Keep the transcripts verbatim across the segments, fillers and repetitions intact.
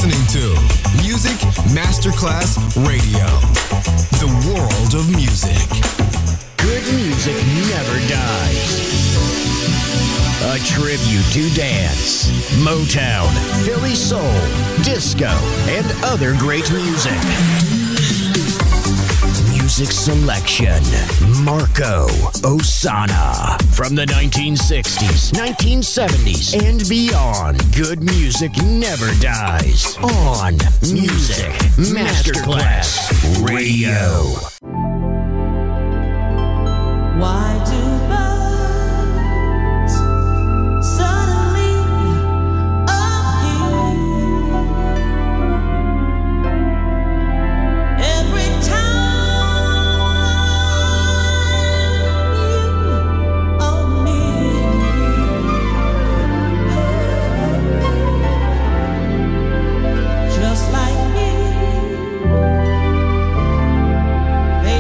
listening to Music Masterclass Radio, the world of music. Good music never dies. A tribute to dance, Motown, Philly soul, disco, and other great music. Music selection, Marco Ossanna. From the nineteen sixties, nineteen seventies, and beyond, good music never dies. On Music Masterclass Radio. Why do birds suddenly appear every time you are near? Just like me, they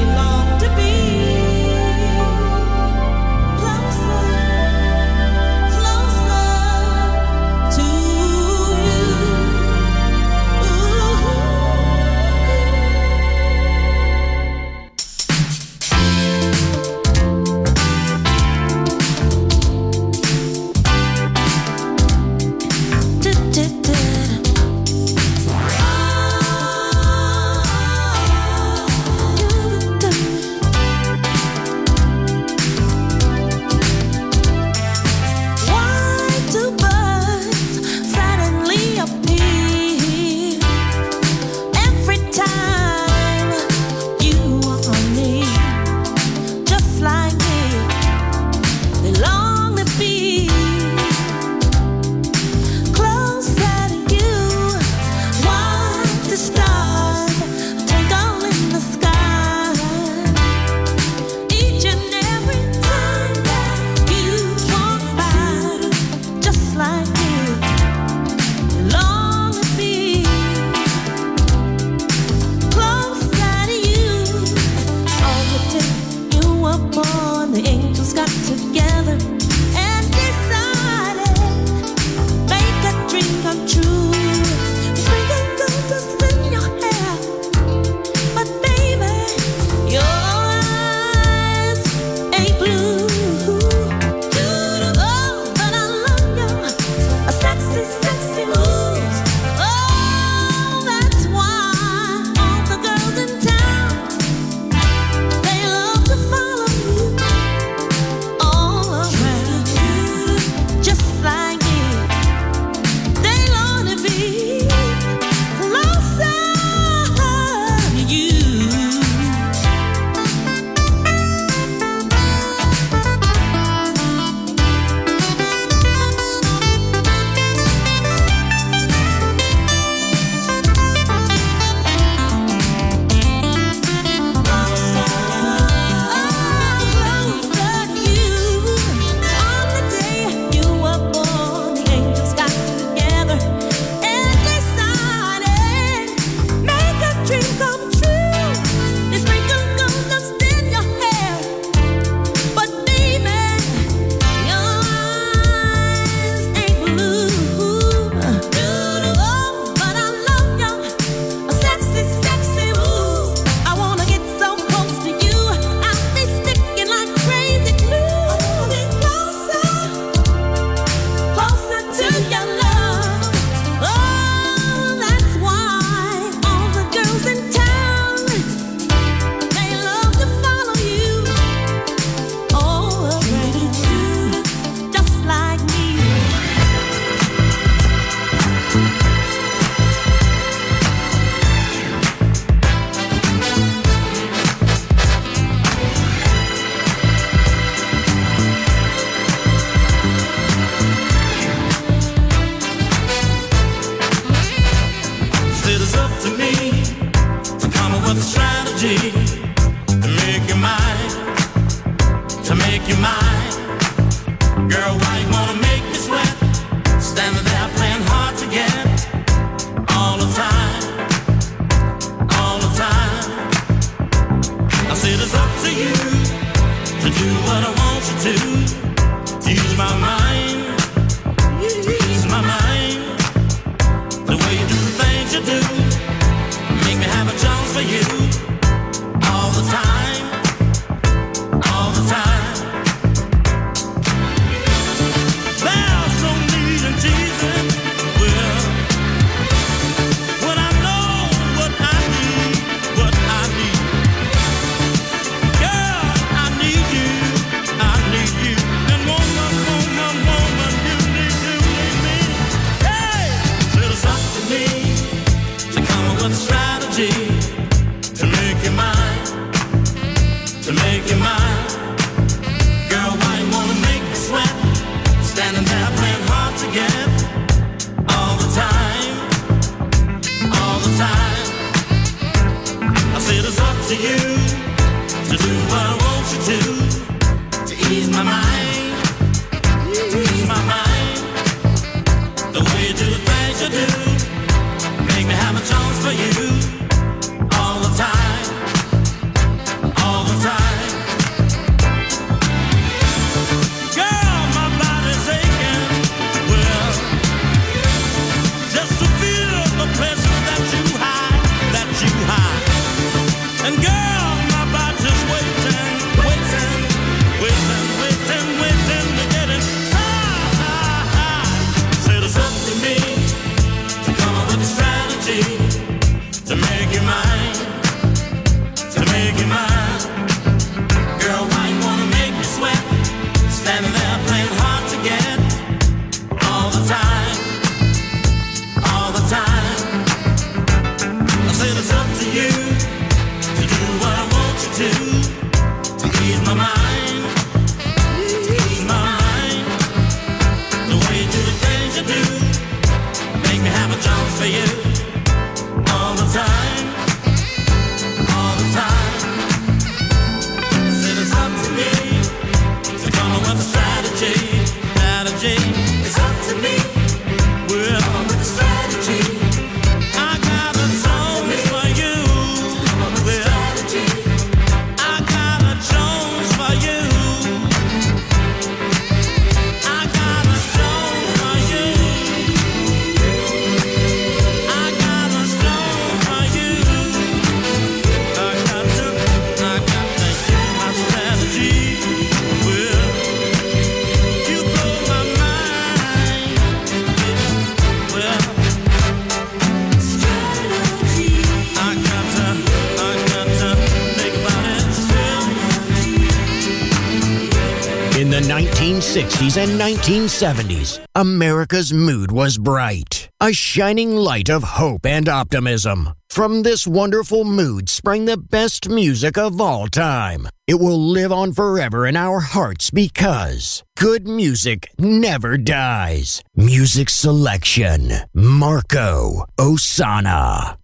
nineteen sixties and nineteen seventies, America's mood was bright, a shining light of hope and optimism. From this wonderful mood sprang the best music of all time. It will live on forever in our hearts because good music never dies. Music selection, Marco Ossanna.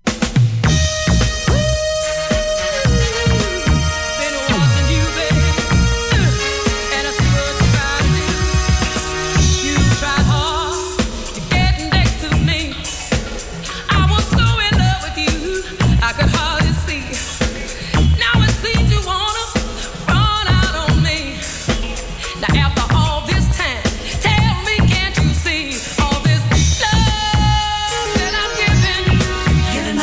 You're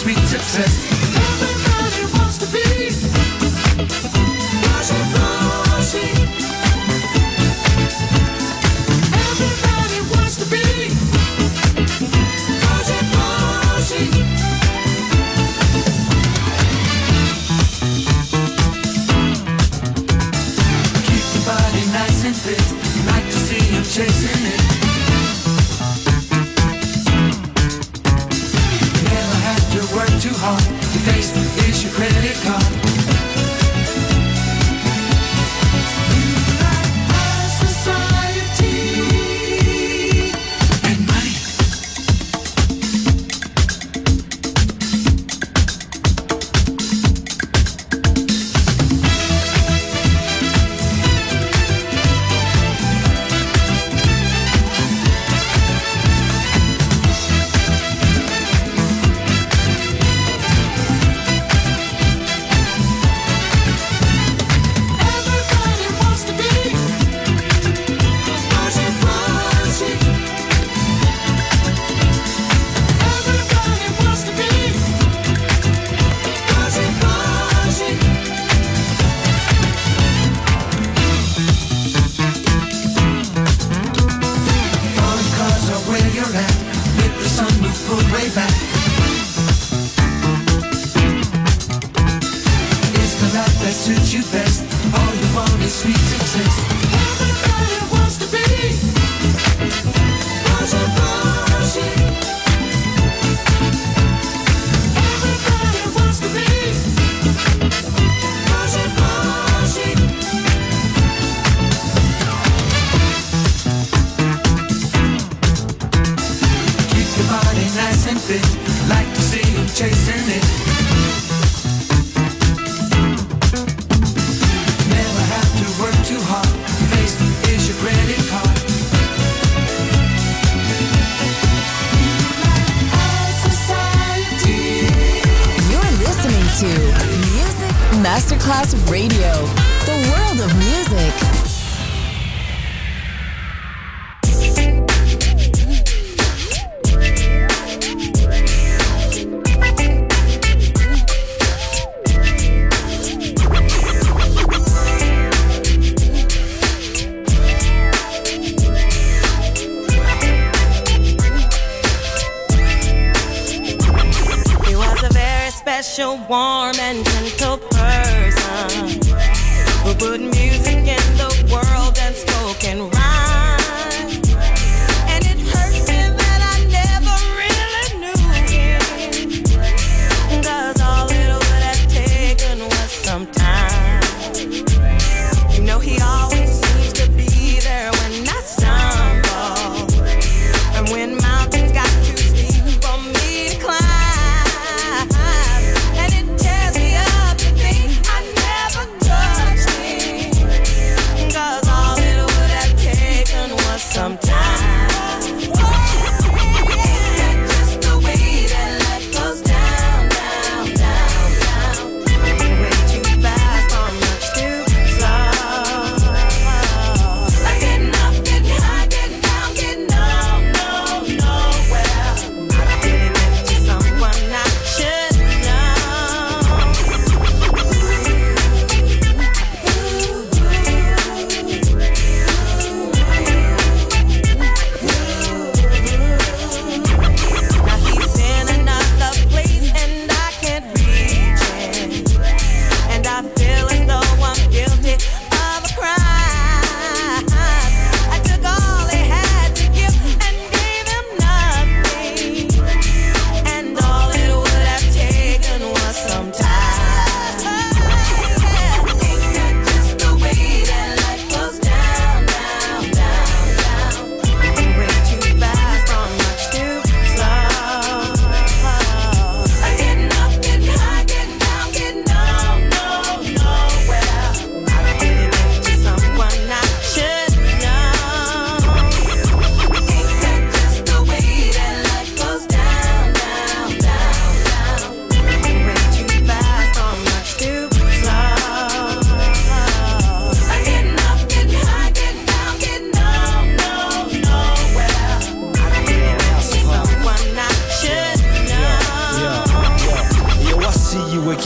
sweet success. Everybody wants to be Rosie, Rosie. Everybody wants to be Rosie, Rosie. Keep your body nice and fit. Like to see you chasing it. Never have to work too hard. Your face is your credit card. You like high society and money. Everybody wants to be Rosie, Rosie. Everybody wants to be Rosie, Rosie. Foreign cars are where you're at. With the sunroof pulled way back. It's the life that suits you best. All you want is sweet success. Everybody wants to be Rosie, Rosie. Everybody wants to be Rosie, Rosie. Keep your body nice and fit. Like to see you chasing it. Never have to work too hard. Face is your credit card. High society. You're listening to Music Masterclass Radio, the world of music. He was a very special, warm and gentle person who put music in the world and spoken rhyme. And it hurt me that I never really knew him, 'cause all it would have taken was some time. You know he always seems to be there when I stumble, and when mountains got too steep for me to climb. And it tears me up to think I never touched him, 'cause all it would have taken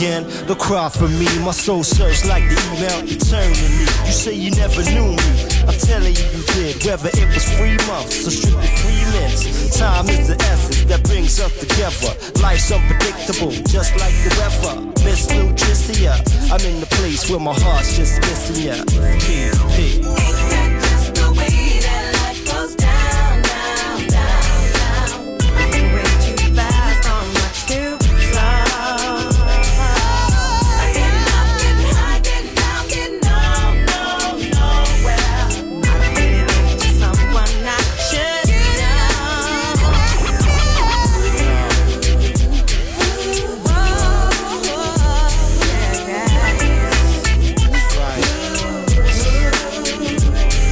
again. Don't cry for me, my soul searched like the email eternally. You say you never knew me, I'm telling you you did. Whether it was free months or strictly free minutes, time is the essence that brings us together. Life's unpredictable, just like the weather. Miss Nutricia, I'm in the place where my heart's just missing ya. P, P. Ain't that just the way that life goes down, down, down, down? Moving way too fast, or much too slow. Getting up, getting high, getting down, getting on, no, nowhere. I'm getting into someone I should know. Oh, yeah, yeah.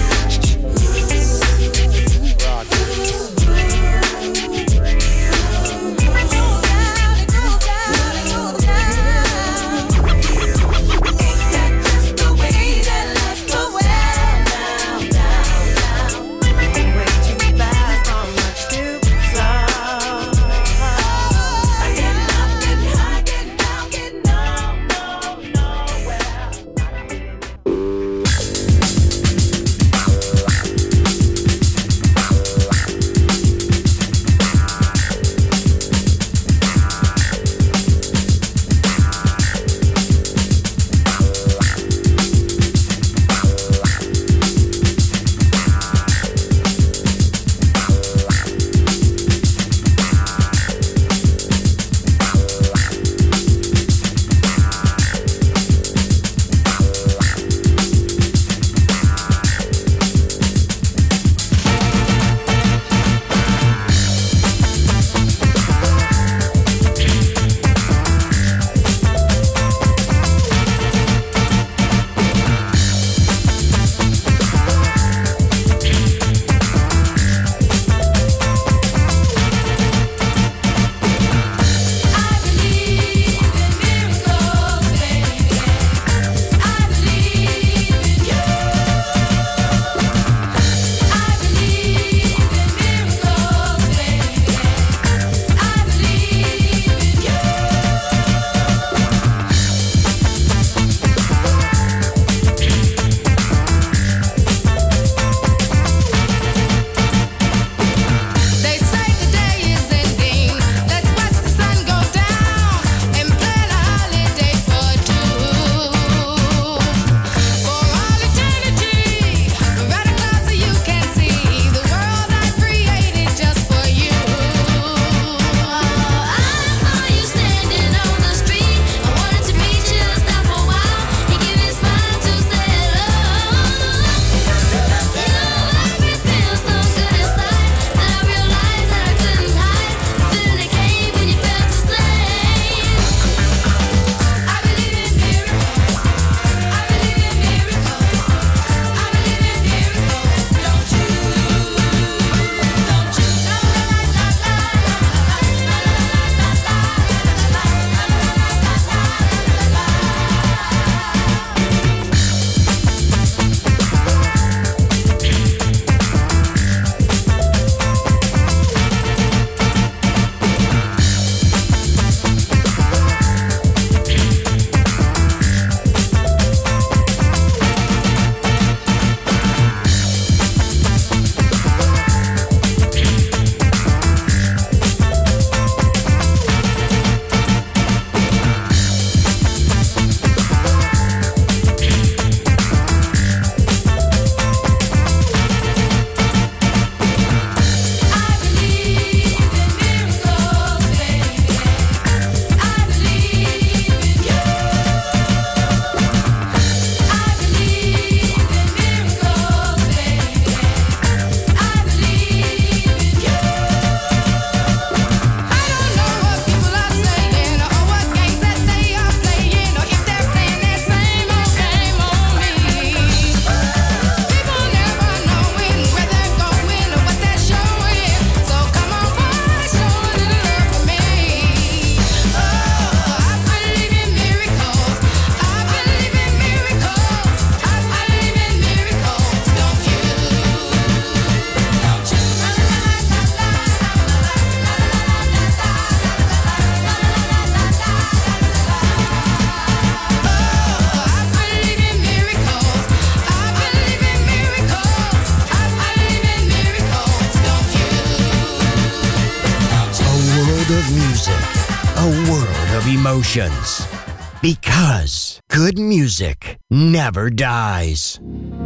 world of music, a world of emotions. Because good music never dies.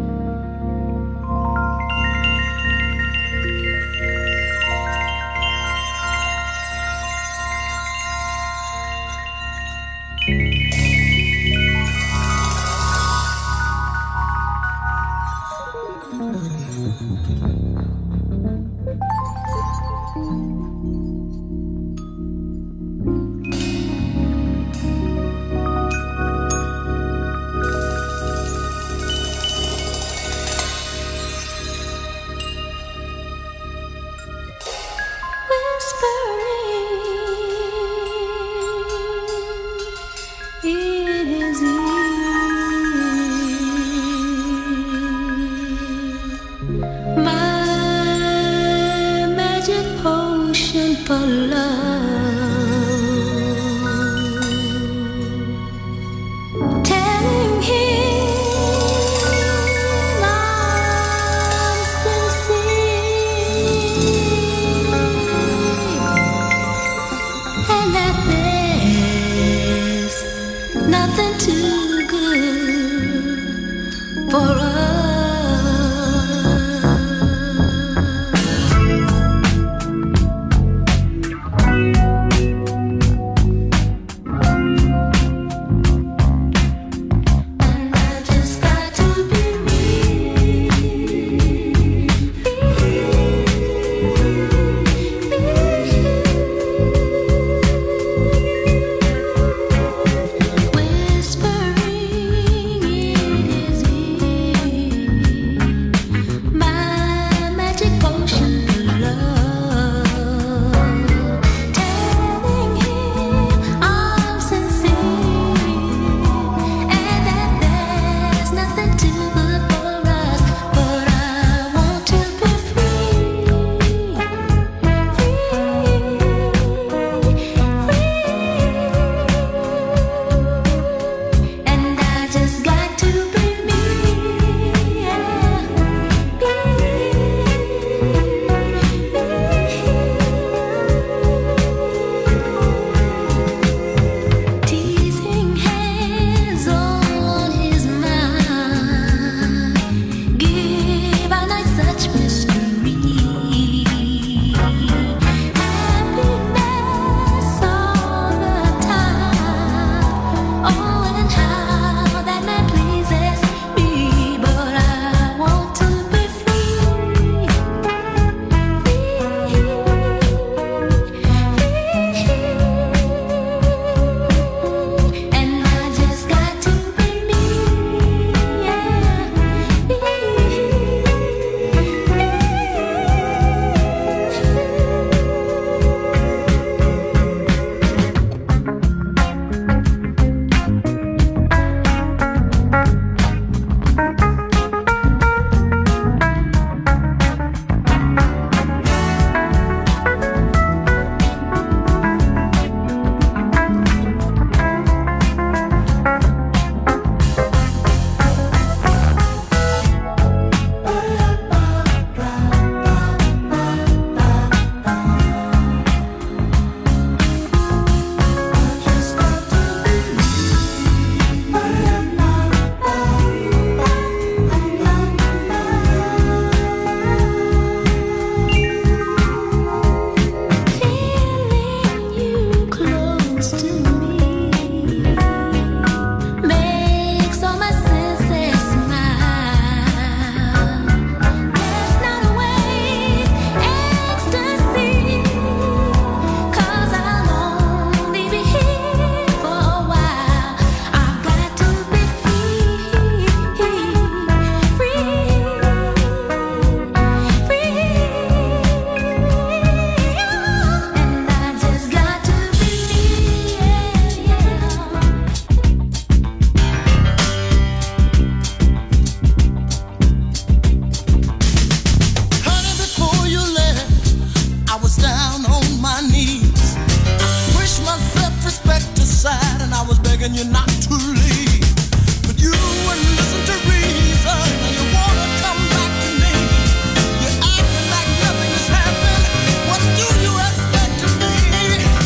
begging you not to leave, but you wouldn't listen to reason. You wanna come back to me. You're acting like nothing has happened. What do you expect of me?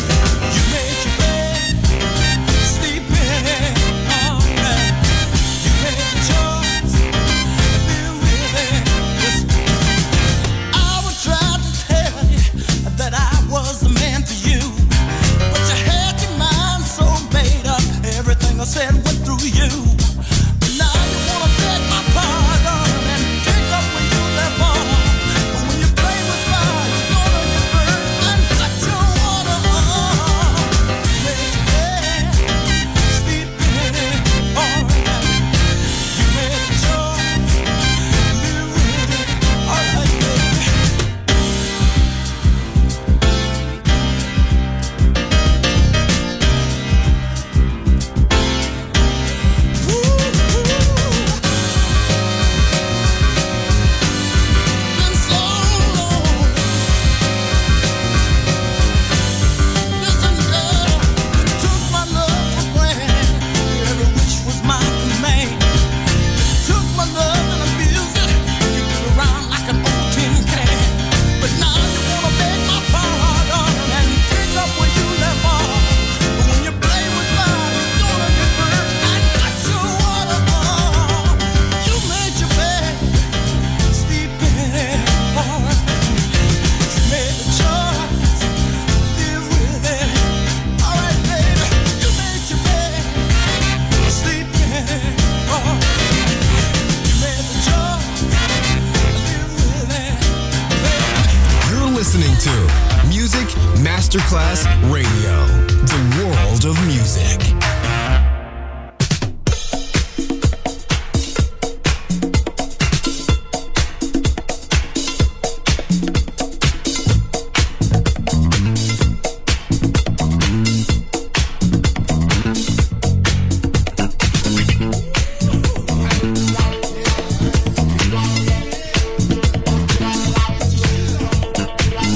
listening to Music Masterclass Radio, the world of music.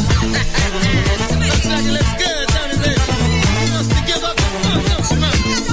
Looks like it looks good, don't it? Wants to give up the funk, don't you, man?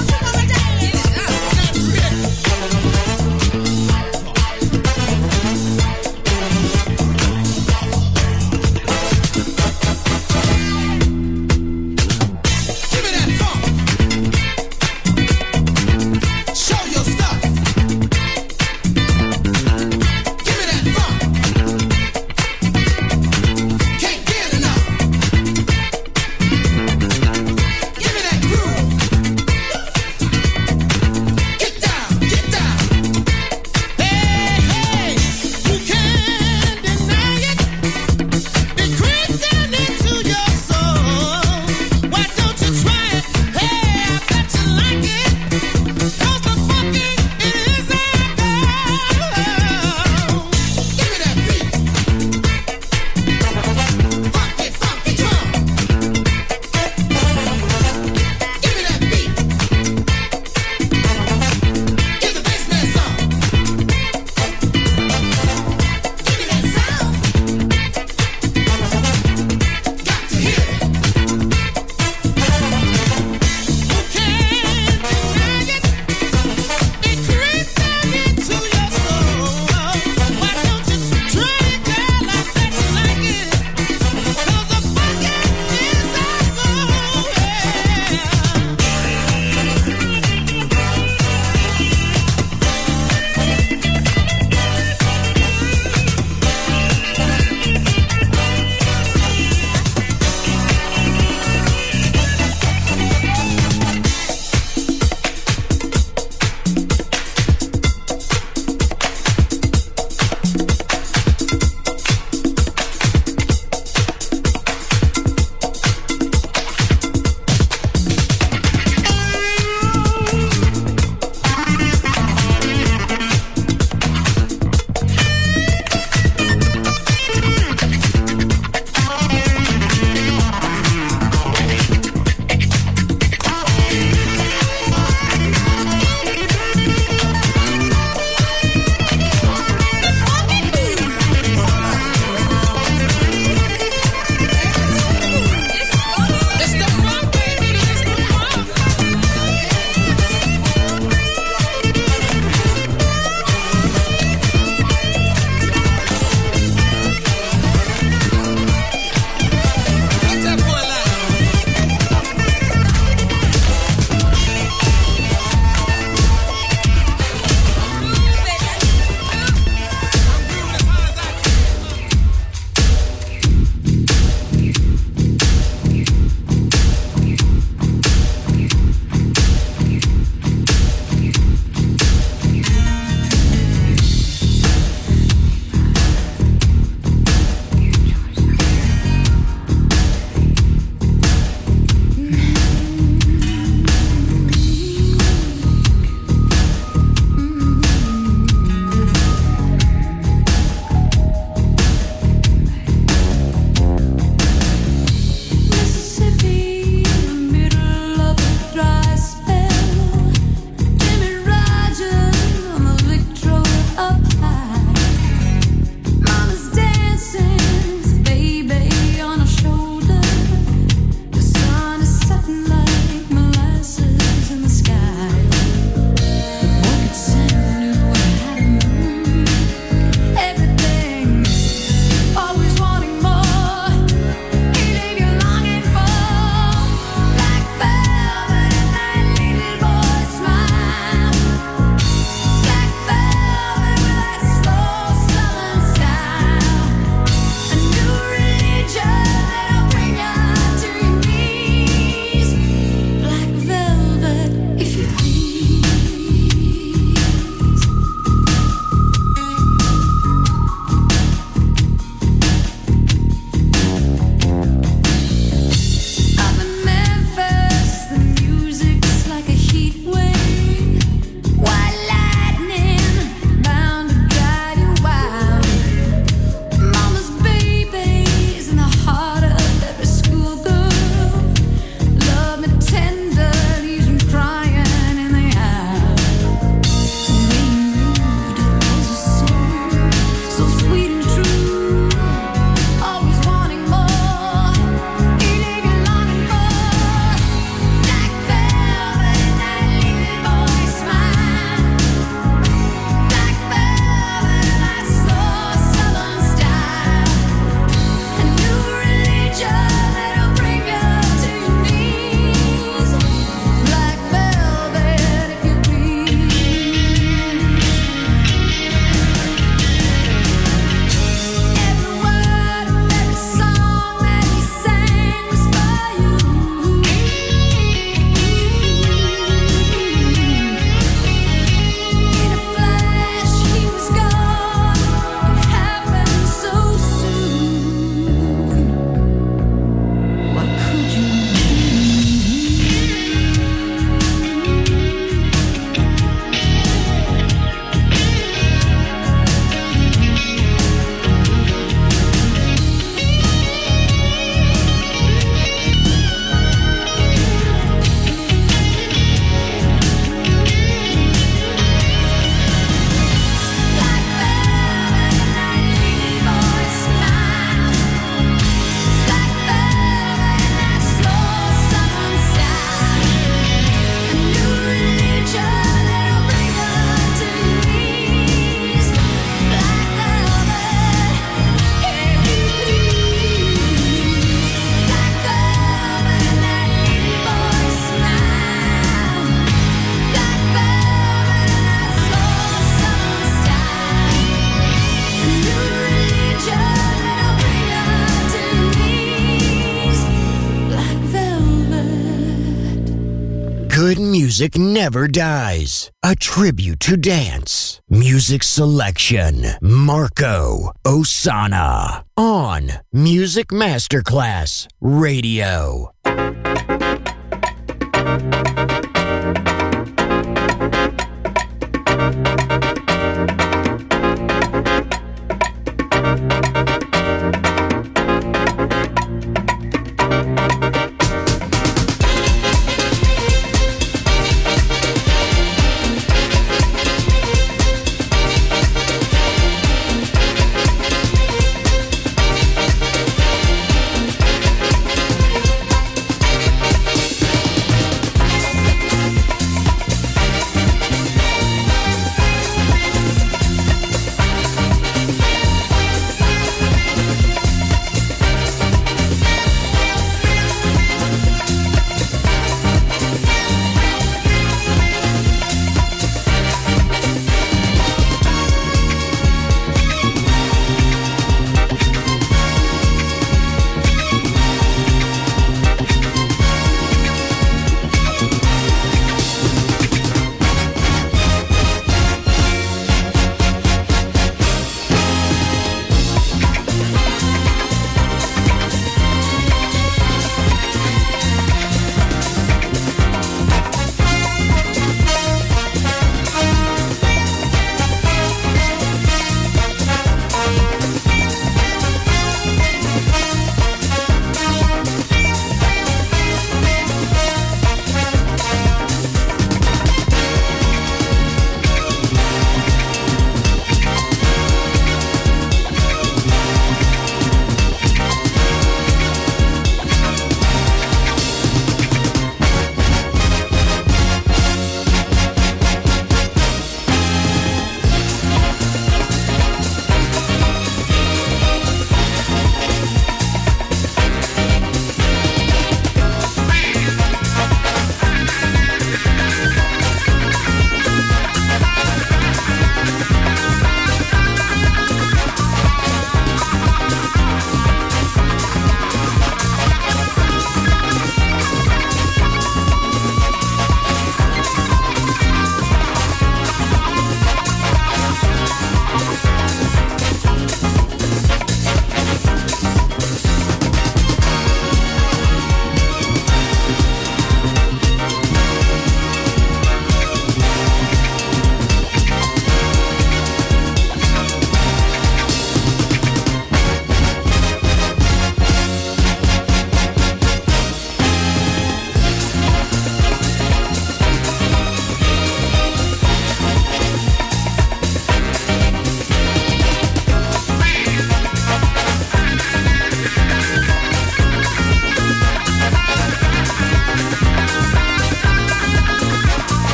music never dies. A tribute to dance. Music selection. Marco Ossanna. On Music Masterclass Radio.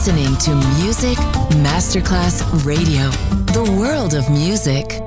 listening to Music Masterclass Radio, the world of music.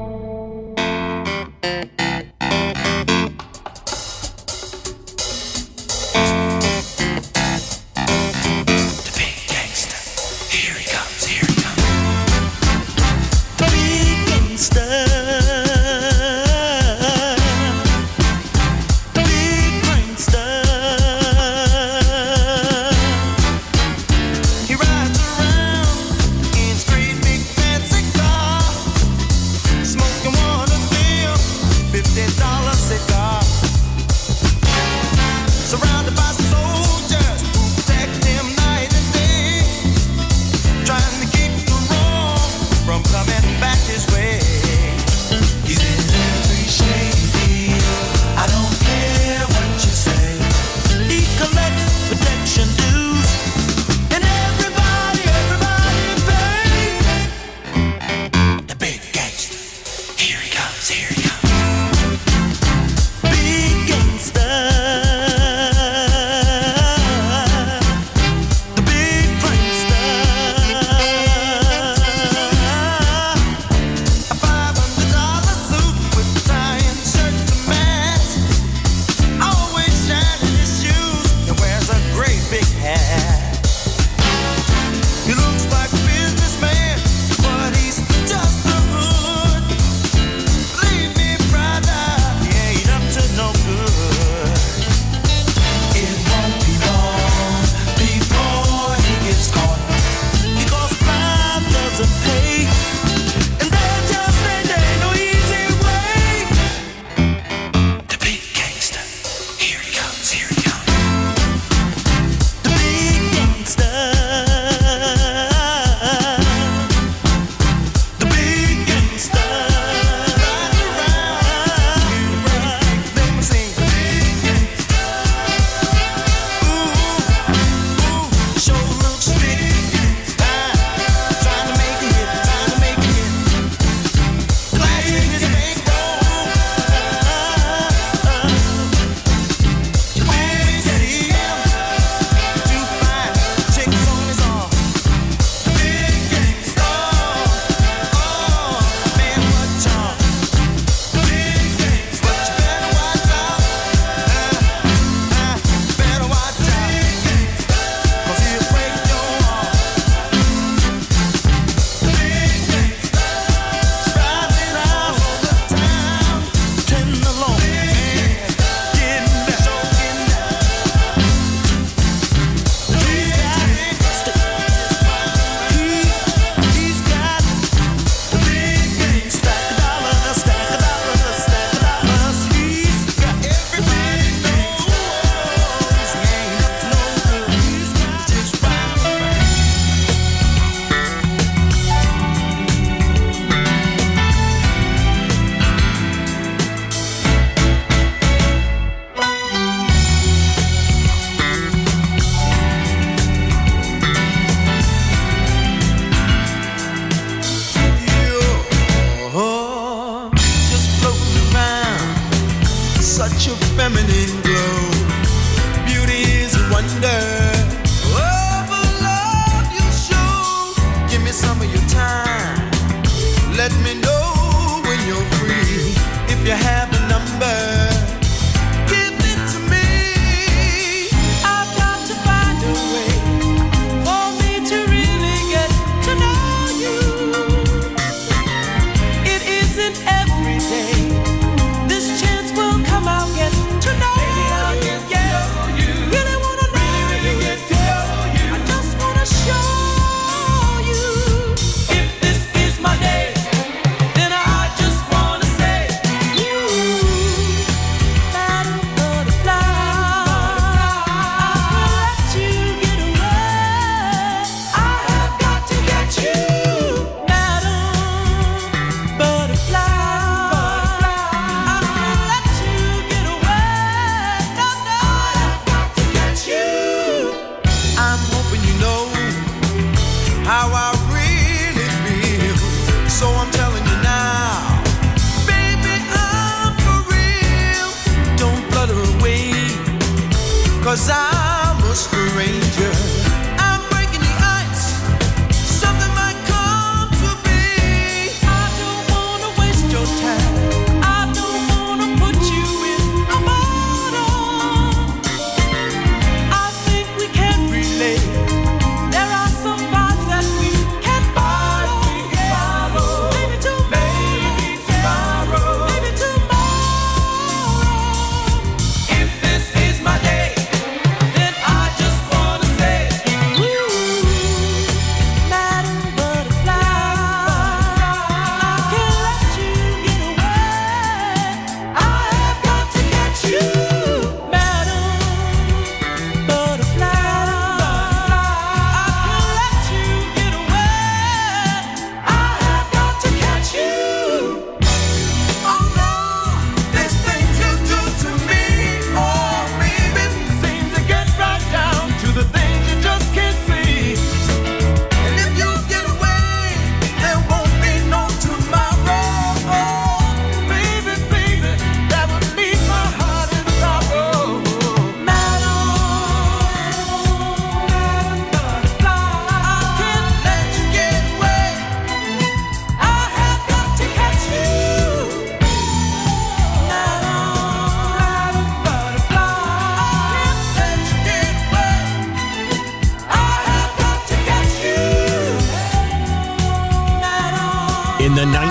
Cause I'm a stranger. I'm breaking the ice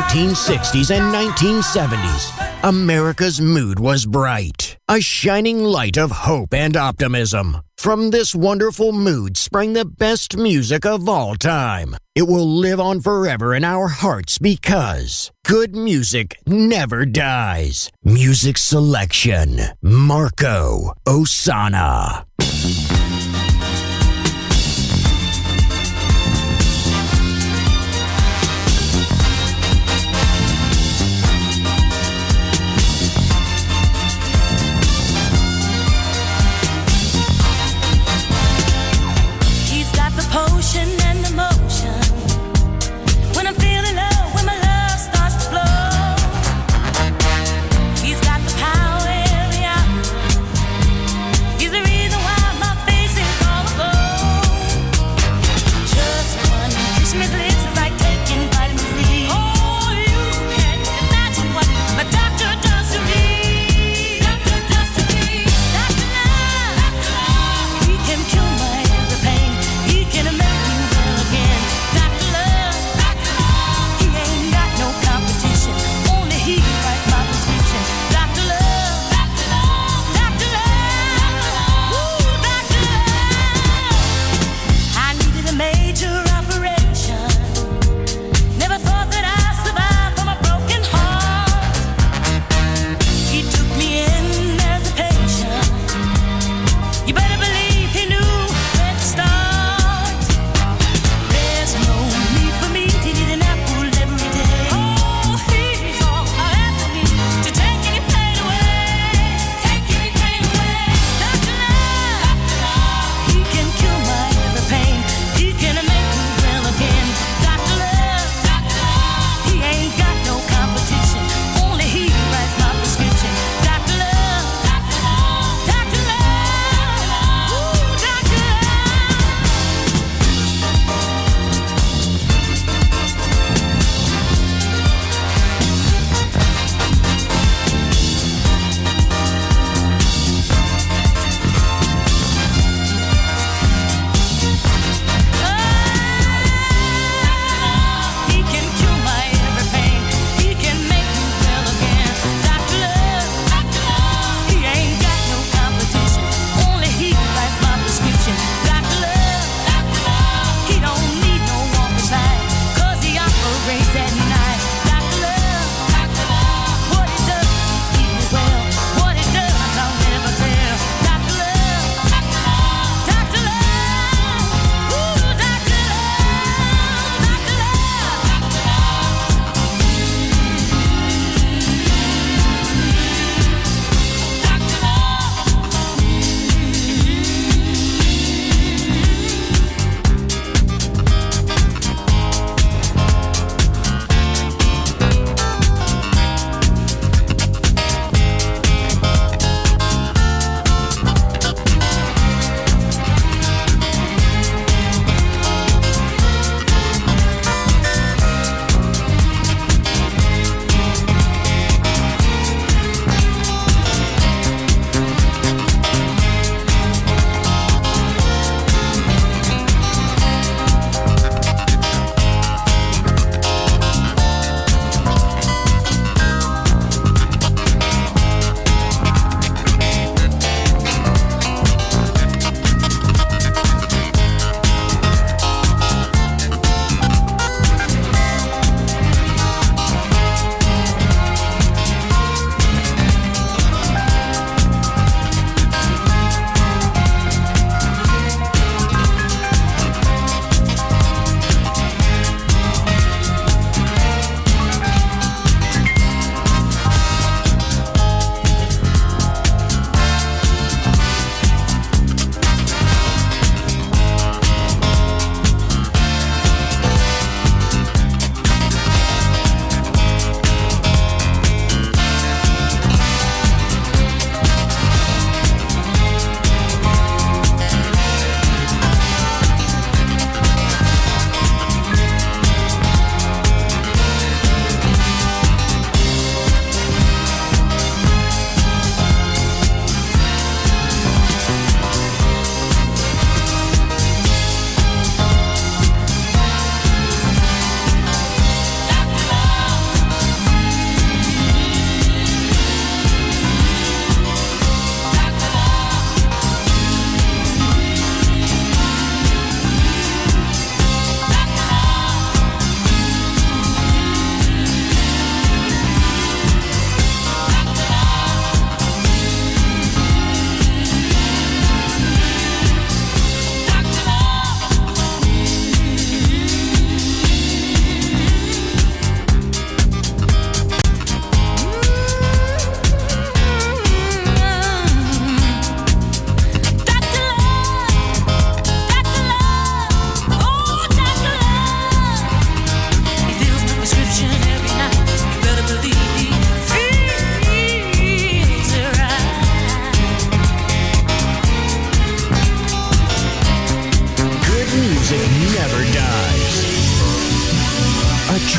nineteen sixties and nineteen seventies, America's mood was bright. A shining light of hope and optimism. From this wonderful mood sprang the best music of all time. It will live on forever in our hearts because good music never dies. Music selection, Marco Ossanna. Potion and emotion. When I'm feeling low, when my love starts to flow, he's got the power every hour. He's the reason why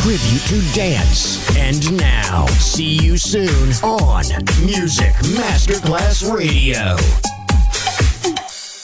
tribute to dance. And now, see you soon on Music Masterclass Radio.